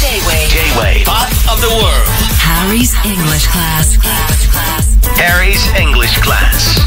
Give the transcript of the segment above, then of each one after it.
J-Wave Pop of the World. Harry's English class. Harry's English class.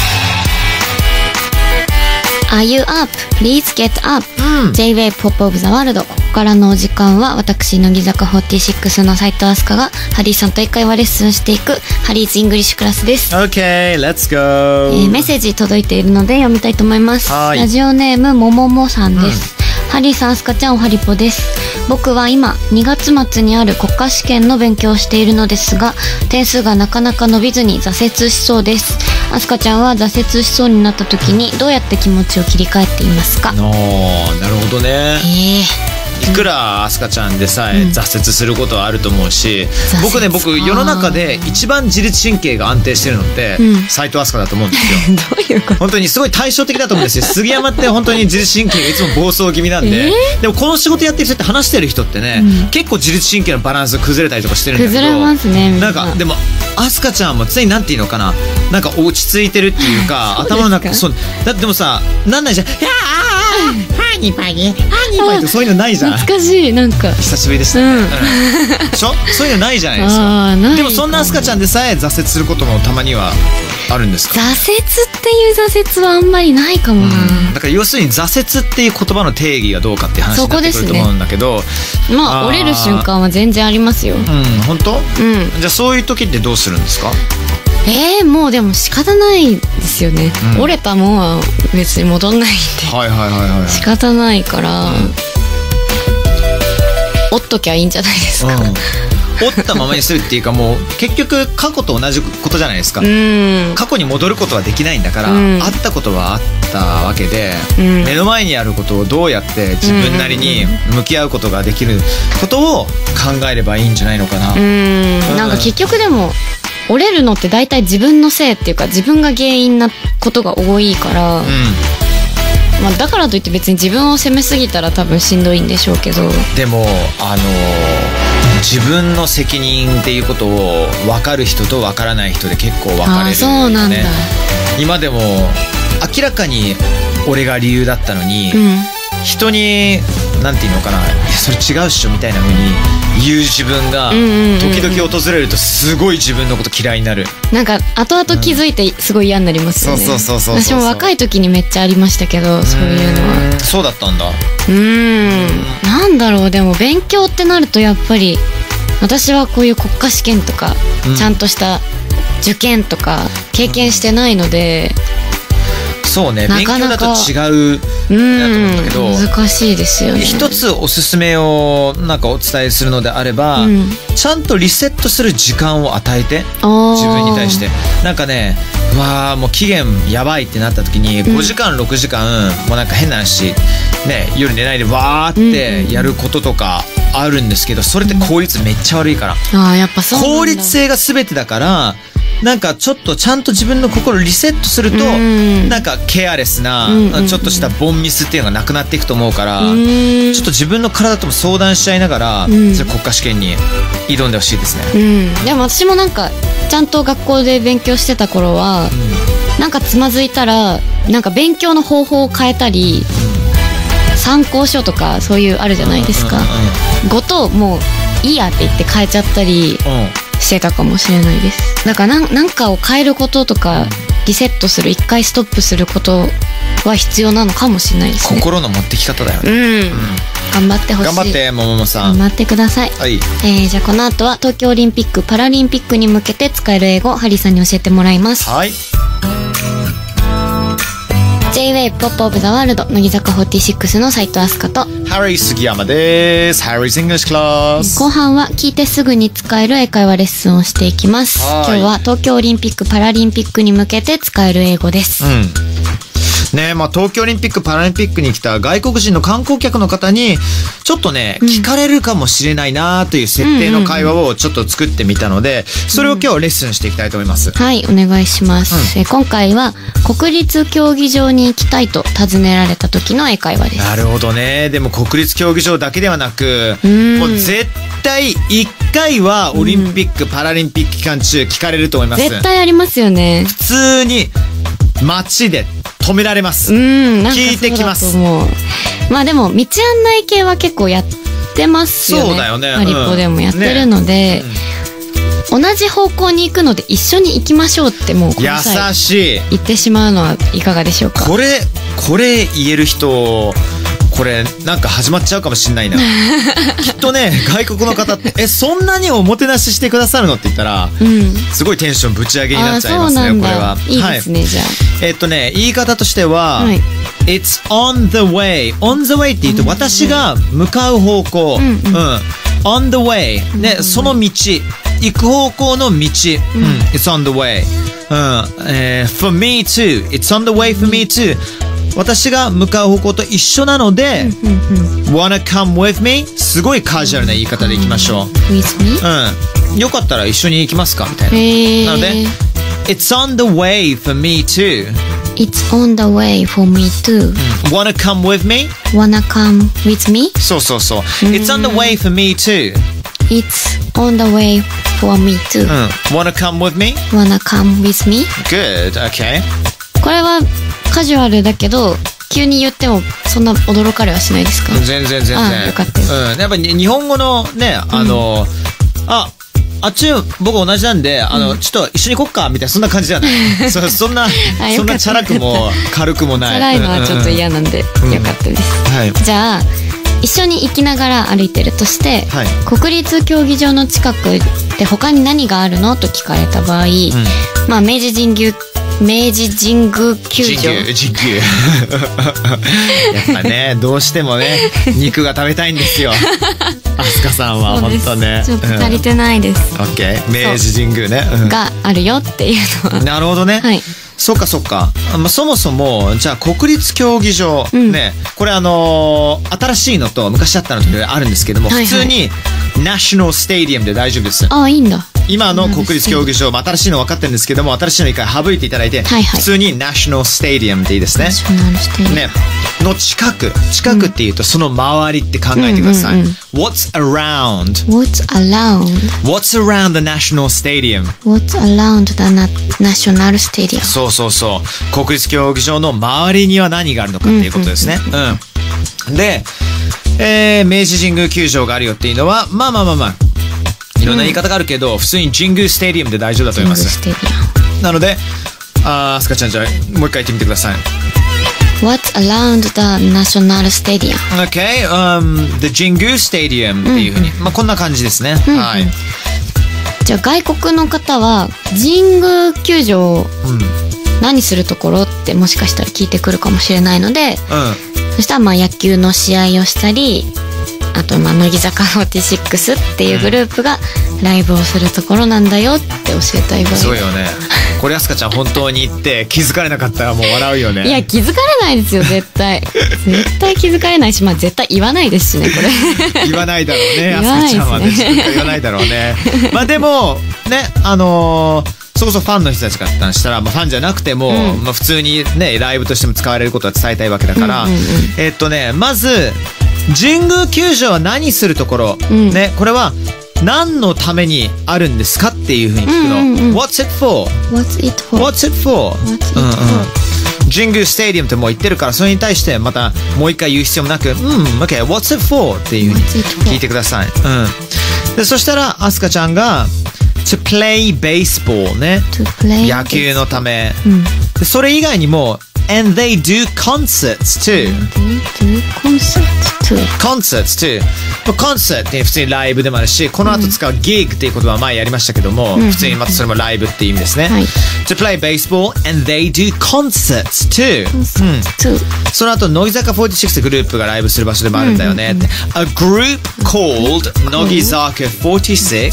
Are you up? Please get up. J-Wave Pop of the World。ここからのお時間は私乃木坂46の斉藤飛鳥がハリーさんと英会話レッスンしていくハリーズイングリッシュクラスです。 Okay, let's go. メッセージ届いているので読みたいと思います。 はいラジオネームもももさんです。ハリーさん、アスカちゃん、おはりぽです。僕は今2月末にある国家試験の勉強をしているのですが、点数がなかなか伸びずに挫折しそうです。アスカちゃんは挫折しそうになった時にどうやって気持ちを切り替えていますか？ なるほどね。いくらアスカちゃんでさえ挫折することはあると思うし、僕世の中で一番自律神経が安定してるのって斉藤飛鳥だと思うんですよ。 どういうこと？ 本当にすごい対照的だと思うんですよ。杉山って本当に自律神経がいつも暴走気味なんで、でもこの仕事やってる人って話してる人ってね、結構自律神経のバランス崩れたりとかしてるんだけど、 崩れますね。みんなんかでもアスカちゃんも常になんていうのかな、なんか落ち着いてるっていうか頭の中そうだってでもさなんないじゃん。ハニパニハニパニってそういうのないじゃん。 懐かしい。なんか久しぶりでしたね。でしょ？そういうのないじゃないですか。でもそんなアスカちゃんでさえ挫折することもたまにはあるんですか？ 挫折っていう挫折はあんまりないかもな。 だから要するに挫折っていう言葉の定義がどうかっていう話になってくると思うんだけど、 まあ折れる瞬間は全然ありますよ。 本当？じゃあそういう時ってどうするんですか？ もうでも仕方ないですよね。折れたもんは別に戻んないんで、仕方ないから、折っときゃいいんじゃないですか。 折ったままにするっていうか、もう結局過去と同じことじゃないですか。過去に戻ることはできないんだから、あったことはあったわけで、目の前にあることをどうやって自分なりに向き合うことができることを考えればいいんじゃないのかな。 なんか結局でも折れるのって大体自分のせいっていうか、自分が原因なことが多いから、まあ、だからといって別に自分を責めすぎたら多分しんどいんでしょうけど、でも自分の責任っていうことを分かる人と分からない人で結構分かれるよね。 そうなんだ。 今でも明らかに俺が理由だったのに、人になんていうのかな、それ違うっしょみたいな風に言う自分が時々訪れるとすごい自分のこと嫌いになる。なんか後々気づいてすごい嫌になりますよね。私も若い時にめっちゃありましたけど、そういうのは。そうだったんだ。なんだろう、でも勉強ってなるとやっぱり私はこういう国家試験とか、ちゃんとした受験とか経験してないので、そうね、勉強だと違うだと思うんだけど、難しいですよね。一つおすすめをなんかお伝えするのであれば、ちゃんとリセットする時間を与えて、自分に対してなんかね、うわーもう期限やばいってなった時に5時間6時間もうなんか変な話ね、夜寝ないでわーってやることとかあるんですけど、それって効率めっちゃ悪いから。やっぱそうなんだ。効率性が全てだから、なんかちょっとちゃんと自分の心をリセットすると、なんかケアレスなちょっとしたボンミスっていうのがなくなっていくと思うから、ちょっと自分の体とも相談しちゃいながら、国家試験に挑んでほしいですね。でも私もなんかちゃんと学校で勉強してた頃は、なんかつまずいたらなんか勉強の方法を変えたり、参考書とかそういうあるじゃないですか、ごともういいやって言って変えちゃったりしてたかもしれないです。だからなんかを変えることとか、リセットする、一回ストップすることは必要なのかもしれないですね。心の持ってき方だよね。頑張ってほしい。頑張ってももさん、頑張ってください。じゃあこの後は東京オリンピック・パラリンピックに向けて使える英語をハリーさんに教えてもらいます。J-Wave Pop of the World、 乃木坂46の斉藤飛鳥とハリー杉山です。 Harry's English Class。 後半は聞いてすぐに使える英会話レッスンをしていきます。今日は東京オリンピック・パラリンピックに向けて使える英語です。 ね、まあ、東京オリンピック・パラリンピックに来た外国人の観光客の方にちょっとね、聞かれるかもしれないなという設定の会話をちょっと作ってみたので、それを今日レッスンしていきたいと思います。 はい、お願いします。今回は国立競技場に行きたいと尋ねられた時の英会話です。 なるほどね。でも国立競技場だけではなく、もう絶対1回はオリンピック・パラリンピック期間中聞かれると思います。 絶対ありますよね。 普通に街で止められます。聞いてきます。 まあでも道案内系は結構やっってますよね。 そうだよね。 ハリポでもやってるので、同じ方向に行くので一緒に行きましょうってもうこの際優しい。 言ってしまうのはいかがでしょうか。 これ言える人、これなんか始まっちゃうかもしんないな。きっとね、外国の方ってそんなにおもてなししてくださるのって言ったら、すごいテンションぶち上げになっちゃいますね。これは。 いいですね、じゃあ。 言い方としては、It's on the way。 on the way って言うと私が向かう方向。on the way。ね、その道。行く方向の道。It's on the way。for me too。 It's on the way for me too。私が向かう方向と一緒なので、wanna come with me？ すごいカジュアルな言い方でいきましょう。 with me？ よかったら一緒に行きますかみたいな。なので、It's on the way for me too。 It's on the way for me too。 wanna come with me？ wanna come with me？ そう。It's on the way for me too。 It's on the way for me too。 wanna come with me？ wanna come with me？ Good, okay。 これはカジュアルだけど急に言ってもそんな驚かれはしないですか？ 全然。 よかったです。 やっぱり日本語のね、あっち僕同じなんで、ちょっと一緒に行こっかみたいな、そんな感じじゃないそんなチャラくも軽くもない。 チャラいのはちょっと嫌なんで、よかったです。じゃあ一緒に行きながら歩いてるとして、国立競技場の近くで他に何があるのと聞かれた場合、まあ明治神宮球場。やっぱね、どうしてもね、肉が食べたいんですよ。アスカさんは本当ね。 ちょっと足りてないです。 オッケー、明治神宮ね。 があるよっていうのは。 なるほどね。そっか。そもそもじゃあ国立競技場ね、これ新しいのと昔あったのとあるんですけども、普通にナショナルスタジアムで大丈夫です。 いいんだ。 今の国立競技場、新しいの分かってるんですけども、新しいの一回省いていただいて、普通にナショナルスタジアムでいいですね。ね、の近くっていうとその周りって考えてください。What's around the national stadium? What's around the national stadium? そう。国立競技場の周りには何があるのかっていうことですね。で、明治神宮球場があるよっていうのは、まあ。いろんな言い方があるけど、普通に神宮スタジアムで大丈夫だと思います。なので、アスカちゃん、じゃあもう一回言ってみてください。 What's around the national stadium? Okay, the 神宮スタジアムっていうふうに、こんな感じですね。はい。 じゃあ外国の方は神宮球場、何するところってもしかしたら聞いてくるかもしれないので、そしたら野球の試合をしたり、あと乃木坂46っていうグループがライブをするところなんだよって教えたい場合。 そうよね。これアスカちゃん本当に言って気づかれなかったらもう笑うよね。 いや気づかれないですよ絶対。絶対気づかれないし、絶対言わないですしねこれ。言わないだろうね。アスカちゃんはね自分から言わないだろうね。でもねそこそファンの人たちからしたら、ファンじゃなくても、普通にねライブとしても使われることは伝えたいわけだから、まず神宮球場は何するところ、ね、これは何のためにあるんですかっていうふうに聞くの。What's it for? What's it for? 神宮スタジアムってもう言ってるから、それに対してまたもう一回言う必要もなく、OK, what's it for? っていうふうに聞いてください。でそしたらアスカちゃんがTo play baseball ね、野球のため、でそれ以外にもAnd they do concerts too. Concerts too. Concert って普通にライブでもあるし、この後使う gig っていう言葉は前やりましたけども、普通にまたそれもライブっていう意味ですね。To play baseball and they do concerts too. その後乃木坂46グループがライブする場所でもあるんだよねって。A group called 乃木坂46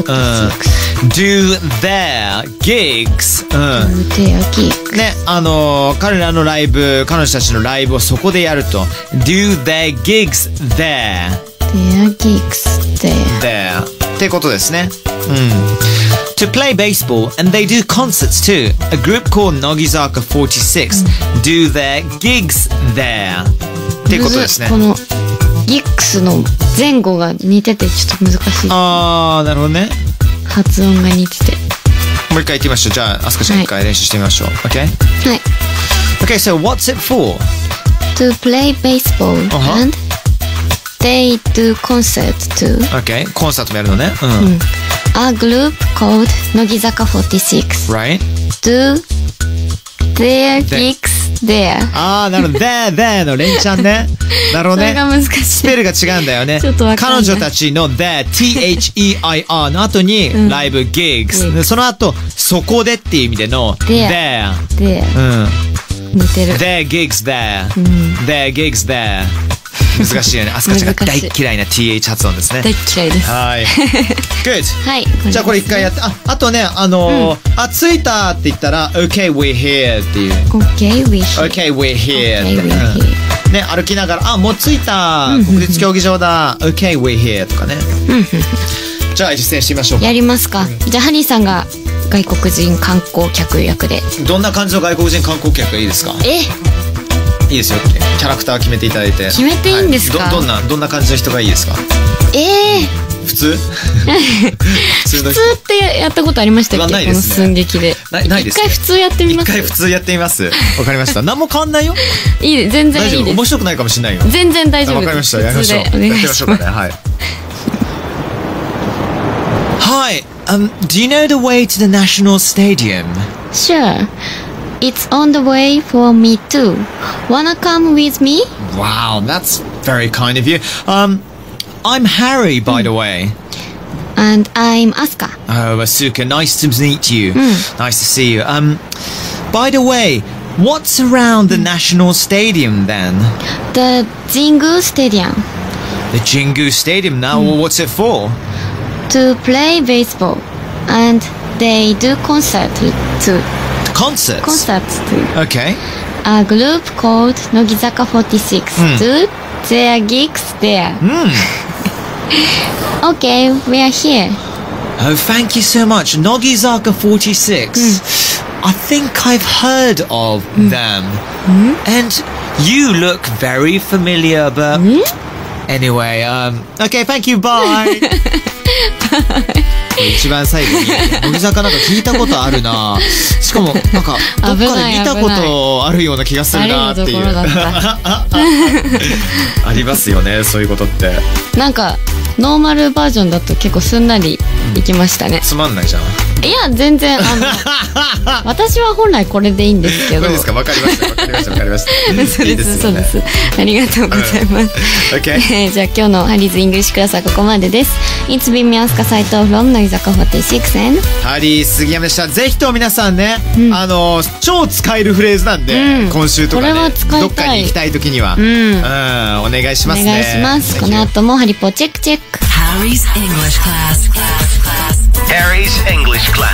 do their gigs. ね、彼らのライブ、彼女たちのライブをそこでやると do their gigs there. Their gigs there. ってことですね。To play baseball and they do concerts too. A group called 乃木坂46 do their gigs there. ってことですね。 このギックスの前後が似ててちょっと難しい。 なるほどね。 発音が似てて。 もう一回言ってみましょう。じゃあアスカちゃん一回練習してみましょう。OK? はい。 Okay, so what's it for? To play baseball and they do concert too. Okay. コンサートもやるのね。 A group called 乃木坂46 Right? do their gigs there. ああ、なるほど。there の連チャンね。なるほどね。 それが難しい。 スペルが違うんだよね。 ちょっとわかんない。 彼女たちの there THEIR の後にライブ gigs、でその後そこでっていう意味での there。 似てる。 their gigs there、their gigs there。難しいよね。アスカちゃんが大嫌いな TH 発音ですね。 大嫌いです。 はい。Good。 はい。 じゃあこれ一回やって、あとね、着いたって言ったら OK we're here っていう。 OK we're here。 OK we're here。 OK we're here。 ね、歩きながら、もう着いた、国立競技場だ、OK we're here とかね。じゃあ実践してみましょうか。 やりますか。じゃあハニーさんが外国人観光客役で。 どんな感じの外国人観光客がいいですか？いいですよ。キャラクター決めていただいて。 決めていいんですか？ どんな感じの人がいいですか？普通？ 普通ってやったことありましたっけ？ ないですね。 この寸劇で。 ないですね。 一回普通やってみます。 一回普通やってみます。わかりました。何も変わんないよ。 いいです。全然いいです。 大丈夫。面白くないかもしれないよ。 全然大丈夫です。 わかりました。やりましょう。やってみましょうかね。はい。Hi, do you know the way to the National Stadium? Sure. It's on the way for me too. Wanna come with me? Wow, that's very kind of you. I'm Harry, by the way. And I'm Asuka. Oh, Asuka, nice to meet you. Nice to see you. By the way, what's around the National Stadium then? The Jingu Stadium. The Jingu Stadium. Now, what's it for? To play baseball. And they do concert too. Concerts? Concerts too. Okay. A group called 乃木坂46 do their gigs there. Okay, we are here. Oh, thank you so much. Nogizaka 46. I think I've heard of them. And you look very familiar, but anyway, okay, thank you, bye. 一番最後に乃木坂なんか聞いたことあるな。しかもなんかどっかで見たことあるような気がするなっていう。ありますよね、そういうことって。なんかノーマルバージョンだと結構すんなりいきましたね。 つまんないじゃん。 いや全然私は本来これでいいんですけど。 そうですか。わかりました。 そうです。ありがとうございます。 Okay. じゃあ今日のハリーズイングリッシュクラスはここまでです。It's been me Asuka斉藤 from 乃木坂46 and ハリー杉山でした。ぜひとも皆さんね、超使えるフレーズなんで、今週とかね、どっかに行きたい時には、お願いしますね。 お願いします。この後もハリポチェックチェック。 Harry's English class. Harry's English class.